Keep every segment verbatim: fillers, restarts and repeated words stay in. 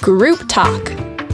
Group Talk.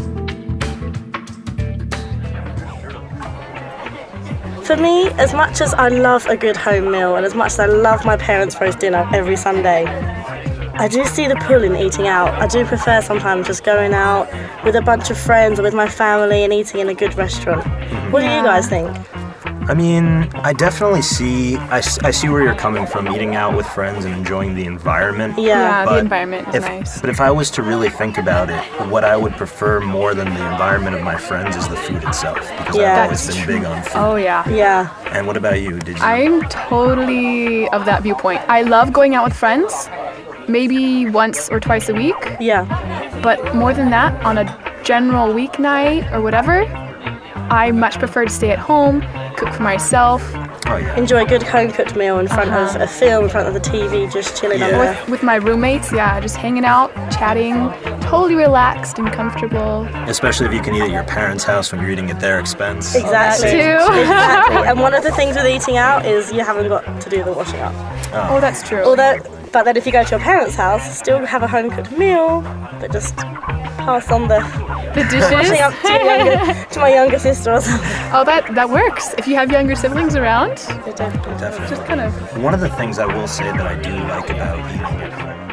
For me, as much as I love a good home meal and as much as I love my parents' roast dinner every Sunday, I do see the pull in eating out. I do prefer sometimes just going out with a bunch of friends or with my family and eating in a good restaurant. What do you guys think? I mean, I definitely see, I, s- I see where you're coming from, eating out with friends and enjoying the environment. Yeah. Yeah, the But environment is if, nice. But if I was to really think about it, what I would prefer more than the environment of my friends is the food itself, because Yeah. I've always That's been true. big on food. Oh, yeah. Yeah. And what about you? Did you? I'm totally of that viewpoint. I love going out with friends, maybe once or twice a week, Yeah. but more than that, on a general weeknight or whatever, I much prefer to stay at home, cook for myself, Oh, yeah. Enjoy a good home-cooked meal in front Uh-huh. of a film, in front of the T V, just chilling on Yeah. there. with, with my roommates, yeah, just hanging out, chatting, totally relaxed and comfortable. Especially if you can eat at your parents' house when you're eating at their expense. Exactly. too. Exactly. And one of the things with eating out is you haven't got to do the washing up. Oh, that's true. Although, but then if you go to your parents' house, still have a home-cooked meal, but just pass on the the dishes. washing up to, my younger, to my younger sister or something. Oh, that, that works. If you have younger siblings around, Definitely. Definitely. just kind of One of the things I will say that I do like about eating at home